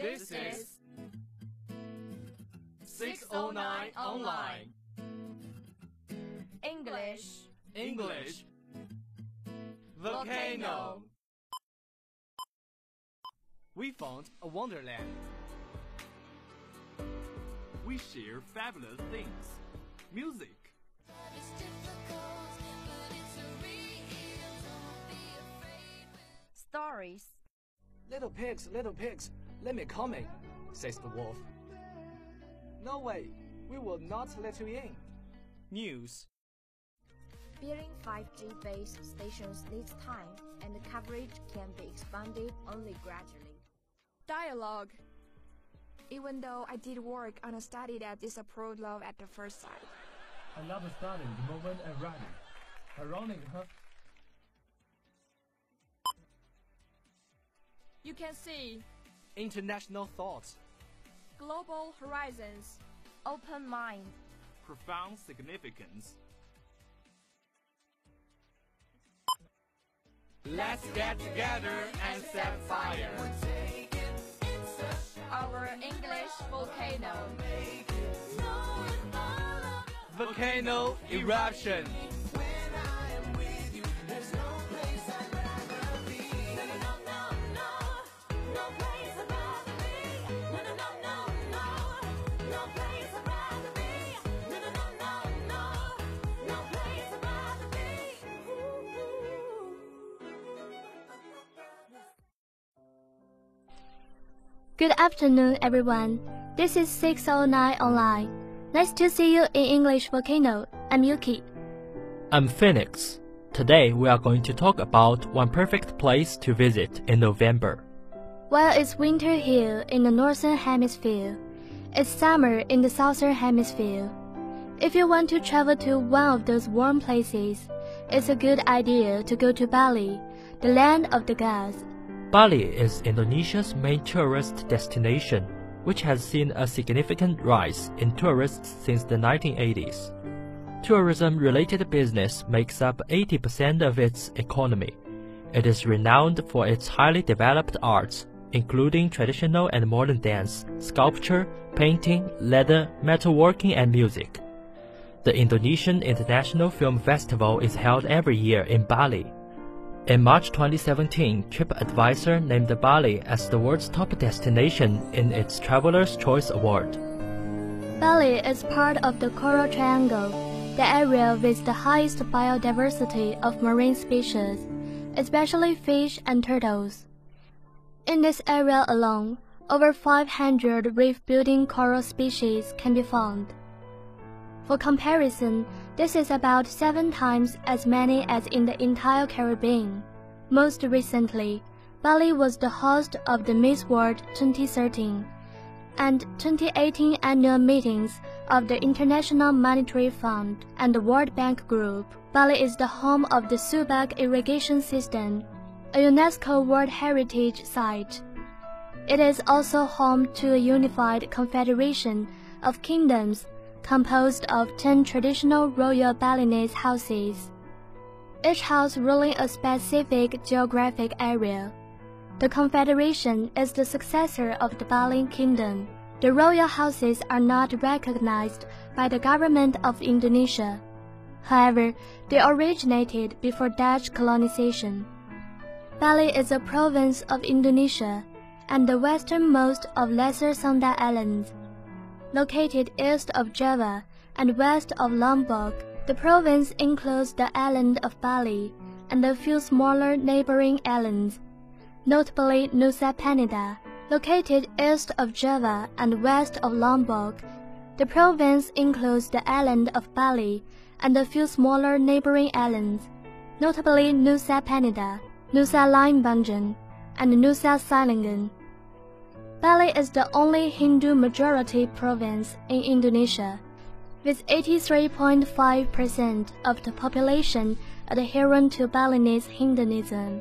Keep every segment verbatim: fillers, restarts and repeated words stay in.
This is six oh nine Online. English. English. Volcano. We found a wonderland. We share fabulous things. Music. Stories. Little pigs, little pigs, let me come in, says the wolf. No way, we will not let you in. News. Building five G base stations needs time, and the coverage can be expanded only gradually. Dialogue. Even though I did work on a study that disapproved love at the first sight. I love studying the moment I'm ready. Ironic, huh? You can see International thoughts. global horizons. Open mind. Profound significance. Let's get together and set fire. Our English volcano. Volcano eruption. Good afternoon, everyone. This is six oh nine Online. Nice to see you in English Volcano. I'm Yuki. I'm Phoenix. Today we are going to talk about one perfect place to visit in November. While it's winter here in the Northern Hemisphere, it's summer in the Southern Hemisphere. If you want to travel to one of those warm places, it's a good idea to go to Bali, the land of the gods. Bali is Indonesia's main tourist destination, which has seen a significant rise in tourists since the nineteen eighties. Tourism-related business makes up eighty percent of its economy. It is renowned for its highly developed arts, including traditional and modern dance, sculpture, painting, leather, metalworking, and music. The Indonesian International Film Festival is held every year in Bali. In March twenty seventeen, TripAdvisor named Bali as the world's top destination in its Traveler's Choice Award. Bali is part of the Coral Triangle, the area with the highest biodiversity of marine species, especially fish and turtles. In this area alone, over five hundred reef-building coral species can be found. For comparison, this is about seven times as many as in the entire Caribbean. Most recently, Bali was the host of the Miss World twenty thirteen and twenty eighteen annual meetings of the International Monetary Fund and the World Bank Group. Bali is the home of the Subak Irrigation System, a UNESCO World Heritage Site. It is also home to a unified confederation of kingdoms composed of ten traditional royal Balinese houses, each house ruling a specific geographic area. The confederation is the successor of the Bali Kingdom. The royal houses are not recognized by the government of Indonesia. However, they originated before Dutch colonization. Bali is a province of Indonesia and the westernmost of Lesser Sunda Islands. Located east of Java and west of Lombok, the province includes the island of Bali and a few smaller neighboring islands, notably Nusa Penida. Located east of Java and west of Lombok, the province includes the island of Bali and a few smaller neighboring islands, notably Nusa Penida, Nusa Lembongan, and Nusa Celengan. Bali is the only Hindu-majority province in Indonesia, with eighty-three point five percent of the population adhering to Balinese Hinduism.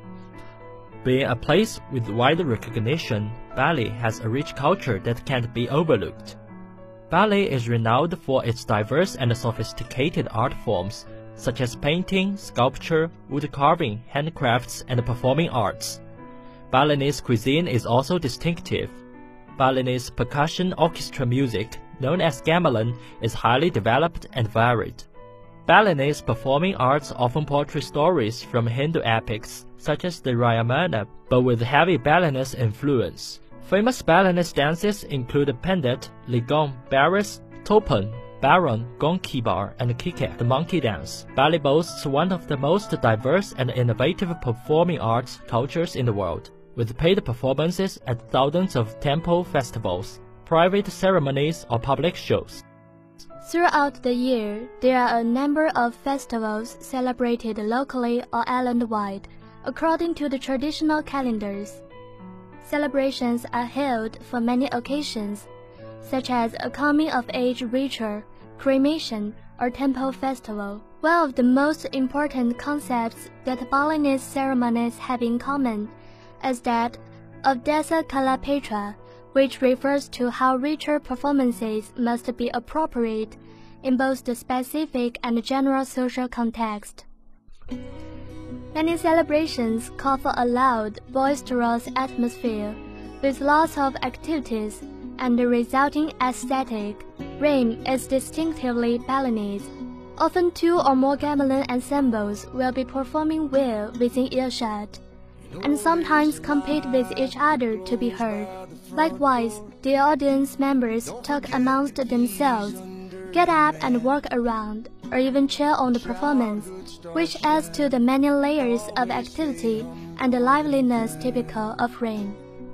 Being a place with wide recognition, Bali has a rich culture that can't be overlooked. Bali is renowned for its diverse and sophisticated art forms, such as painting, sculpture, wood carving, handcrafts, and performing arts. Balinese cuisine is also distinctive. Balinese percussion orchestra music, known as gamelan, is highly developed and varied. Balinese performing arts often portray stories from Hindu epics, such as the Ramayana, but with heavy Balinese influence. Famous Balinese dances include Pendit, Ligong, Baris, Topan, Baron, Gong Kibar, and Kikek, the monkey dance. Bali boasts one of the most diverse and innovative performing arts cultures in the world, with paid performances at thousands of temple festivals, private ceremonies, or public shows. Throughout the year, there are a number of festivals celebrated locally or island-wide, according to the traditional calendars. Celebrations are held for many occasions, such as a coming-of-age ritual, cremation, or temple festival. One of the most important concepts that Balinese ceremonies have in common is that of Desa Kalapatra, which refers to how ritual performances must be appropriate in both the specific and general social context. Many celebrations call for a loud, boisterous atmosphere, with lots of activities and the resulting aesthetic. Rain is distinctively Balinese. Often two or more gamelan ensembles will be performing well within earshot, and sometimes compete with each other to be heard. Likewise, the audience members talk amongst themselves, get up and walk around, or even cheer on the performance, which adds to the many layers of activity and the liveliness typical of rain.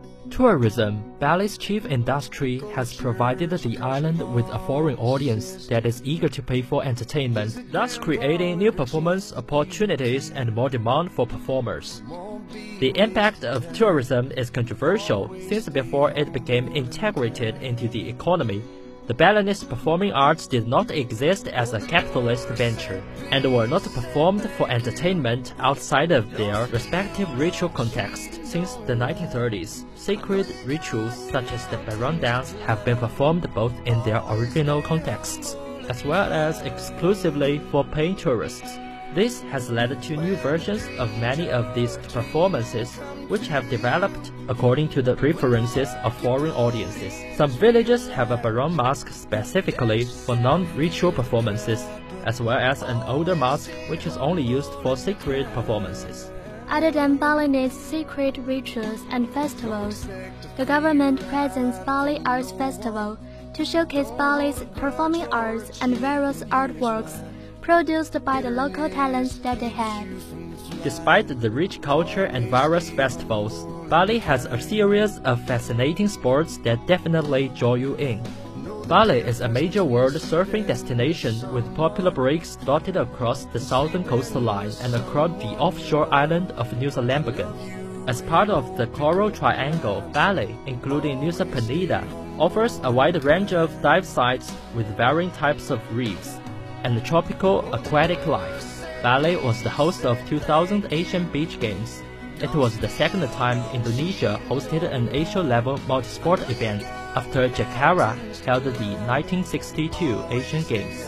Tourism, Bali's chief industry, has provided the island with a foreign audience that is eager to pay for entertainment, thus creating new performance opportunities and more demand for performers. The impact of tourism is controversial, since before it became integrated into the economy, the Balinese performing arts did not exist as a capitalist venture, and were not performed for entertainment outside of their respective ritual context. Since the nineteen thirties, sacred rituals such as the Baron dance have been performed both in their original contexts, as well as exclusively for paying tourists. This has led to new versions of many of these performances, which have developed according to the preferences of foreign audiences. Some villages have a Baron mask specifically for non-ritual performances, as well as an older mask which is only used for sacred performances. Other than Balinese sacred rituals and festivals, the government presents Bali Arts Festival to showcase Bali's performing arts and various artworks produced by the local talents that they have. Despite the rich culture and various festivals, Bali has a series of fascinating sports that definitely draw you in. Bali is a major world surfing destination with popular breaks dotted across the southern coastline and across the offshore island of Nusa Lembongan. As part of the Coral Triangle, Bali, including Nusa Penida, offers a wide range of dive sites with varying types of reefs and tropical aquatic life. Bali was the host of two thousand Asian Beach Games. It was the second time Indonesia hosted an Asia-level multisport event after Jakarta held the nineteen sixty-two Asian Games.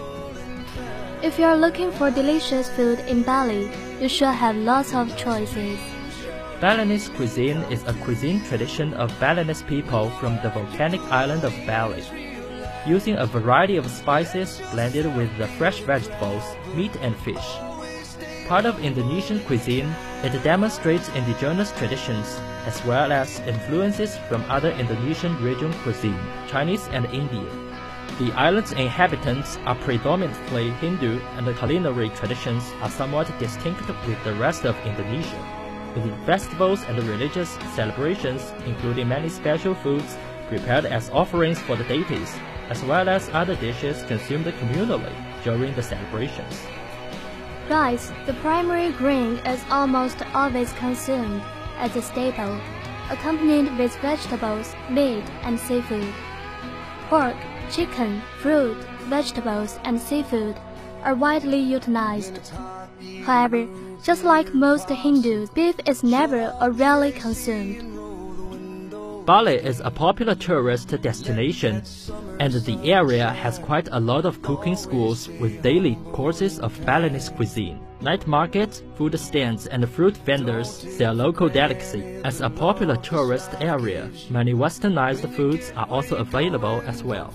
If you are looking for delicious food in Bali, you should have lots of choices. Balinese cuisine is a cuisine tradition of Balinese people from the volcanic island of Bali, using a variety of spices blended with the fresh vegetables, meat and fish. Part of Indonesian cuisine, it demonstrates indigenous traditions as well as influences from other Indonesian region cuisine, Chinese and Indian. The island's inhabitants are predominantly Hindu, and the culinary traditions are somewhat distinct with the rest of Indonesia, with festivals and religious celebrations including many special foods prepared as offerings for the deities, as well as other dishes consumed communally during the celebrations. Rice, the primary grain, is almost always consumed as a staple, accompanied with vegetables, meat, and seafood. Pork, chicken, fruit, vegetables, and seafood are widely utilized. However, just like most Hindus, beef is never or rarely consumed. Bali is a popular tourist destination, and the area has quite a lot of cooking schools with daily courses of Balinese cuisine. Night markets, food stands, and fruit vendors sell local delicacy. As a popular tourist area, many westernized foods are also available as well.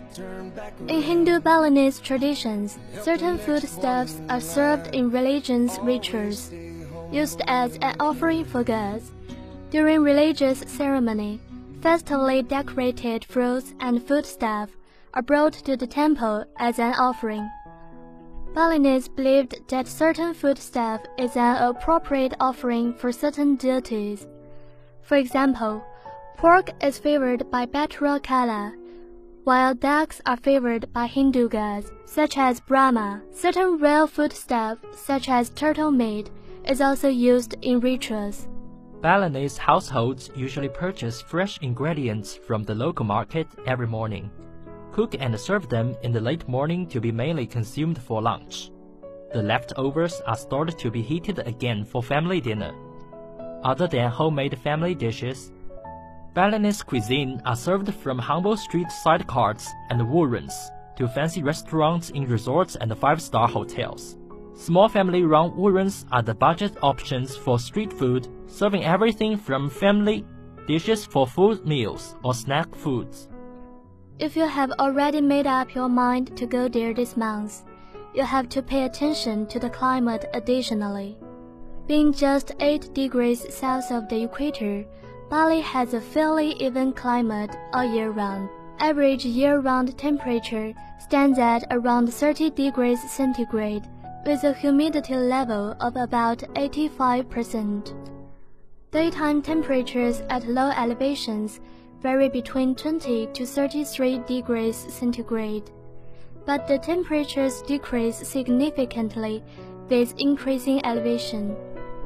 In Hindu Balinese traditions, certain foodstuffs are served in religious rituals, used as an offering for gods. During religious ceremony, festively decorated fruits and foodstuff are brought to the temple as an offering. Balinese believed that certain foodstuff is an appropriate offering for certain deities. For example, pork is favored by Batra Kala, while ducks are favored by Hindu gods, such as Brahma. Certain real foodstuff, such as turtle meat, is also used in rituals. Balinese households usually purchase fresh ingredients from the local market every morning, cook and serve them in the late morning to be mainly consumed for lunch. The leftovers are stored to be heated again for family dinner. Other than homemade family dishes, Balinese cuisine are served from humble street side carts and wurens to fancy restaurants in resorts and five-star hotels. Small family-run wurens are the budget options for street food, serving everything from family dishes for full meals or snack foods. If you have already made up your mind to go there this month, you have to pay attention to the climate additionally. Being just eight degrees south of the equator, Bali has a fairly even climate all year round. Average year-round temperature stands at around thirty degrees centigrade, with a humidity level of about eighty-five percent. Daytime temperatures at low elevations vary between twenty to thirty-three degrees centigrade, but the temperatures decrease significantly with increasing elevation.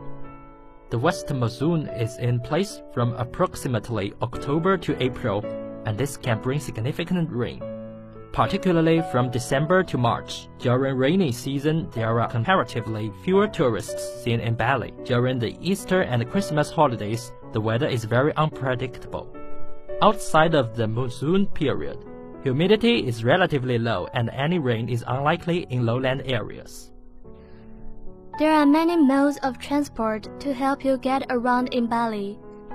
The west monsoon is in place from approximately October to April, and this can bring significant rain. Particularly from December to March. During rainy season, there are comparatively fewer tourists seen in Bali. During the Easter and Christmas holidays, the weather is very unpredictable. Outside of the monsoon period, humidity is relatively low and any rain is unlikely in lowland areas. There are many modes of transport to help you get around in Bali.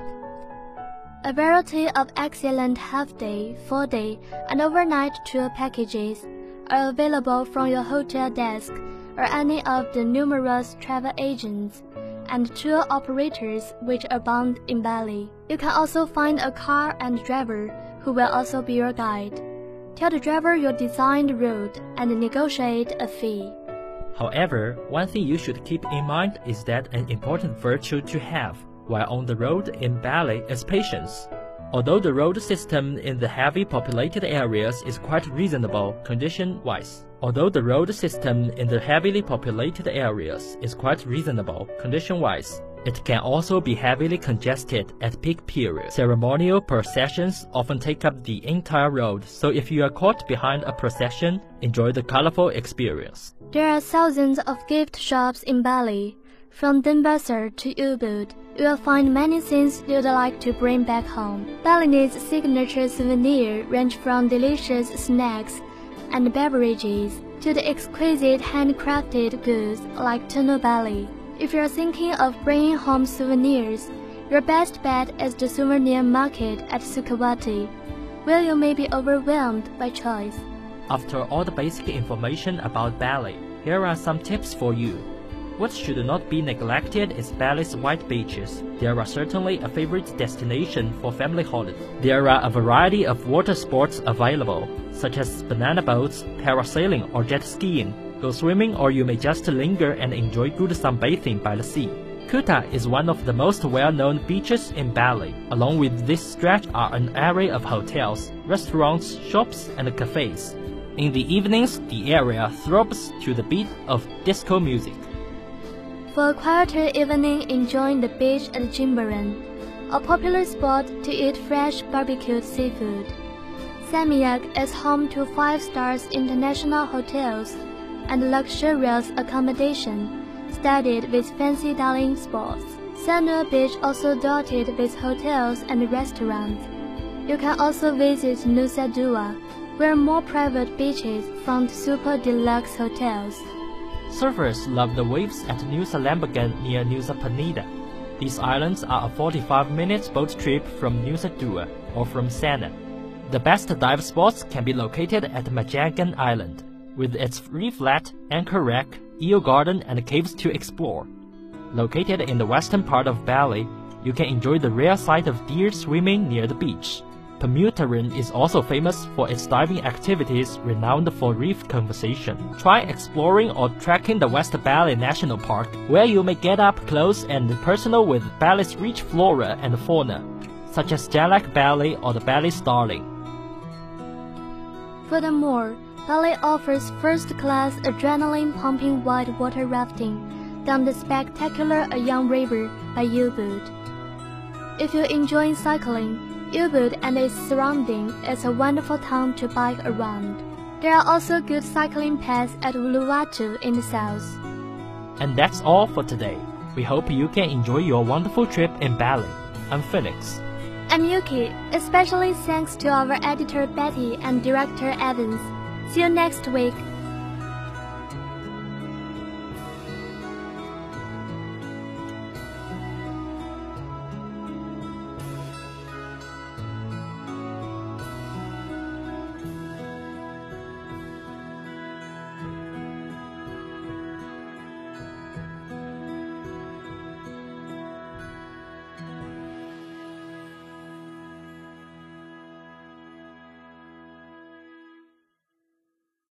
A variety of excellent half-day, full-day, and overnight tour packages are available from your hotel desk or any of the numerous travel agents and tour operators which abound in Bali. You can also find a car and driver who will also be your guide. Tell the driver your designed route and negotiate a fee. However, one thing you should keep in mind is that an important virtue to have while on the road in Bali is patience. Although the road system in the heavily populated areas is quite reasonable condition-wise, although the road system in the heavily populated areas is quite reasonable condition-wise, it can also be heavily congested at peak periods. Ceremonial processions often take up the entire road, so if you are caught behind a procession, enjoy the colorful experience. There are thousands of gift shops in Bali. From Denpasar to Ubud, you will find many things you'd like to bring back home. Balinese signature souvenirs range from delicious snacks and beverages to the exquisite handcrafted goods like tunu Bali. If you're thinking of bringing home souvenirs, your best bet is the souvenir market at Sukawati, where you may be overwhelmed by choice. After all the basic information about Bali, here are some tips for you. What should not be neglected is Bali's white beaches. There are certainly a favorite destination for family holiday. There are a variety of water sports available, such as banana boats, parasailing or jet skiing. Go swimming or you may just linger and enjoy good sunbathing by the sea. Kuta is one of the most well-known beaches in Bali. Along with this stretch are an array of hotels, restaurants, shops and cafes. In the evenings, the area throbs to the beat of disco music. For a quieter evening enjoying the beach at Jimbaran, a popular spot to eat fresh barbecued seafood. Seminyak is home to five-star international hotels and luxurious accommodation, studded with fancy dining spots. Sanur Beach also dotted with hotels and restaurants. You can also visit Nusa Dua, where more private beaches front super deluxe hotels. Surfers love the waves at Nusa Lembongan near Nusa Penida. These islands are a forty-five minute boat trip from Nusa Dua or from Sanur. The best dive spots can be located at Majangan Island, with its reef flat, anchor wreck, eel garden and caves to explore. Located in the western part of Bali, you can enjoy the rare sight of deer swimming near the beach. Pemutaran is also famous for its diving activities renowned for reef conservation. Try exploring or trekking the West Bali National Park, where you may get up close and personal with Bali's rich flora and fauna, such as Jalak Bali or the Bali starling. Furthermore, Bali offers first-class adrenaline-pumping whitewater rafting down the spectacular Ayang River by Ubud. If you're enjoying cycling, Ubud and its surrounding is a wonderful town to bike around. There are also good cycling paths at Uluwatu in the south. And that's all for today. We hope you can enjoy your wonderful trip in Bali. I'm Felix. I'm Yuki, especially thanks to our editor Betty and director Evans. See you next week.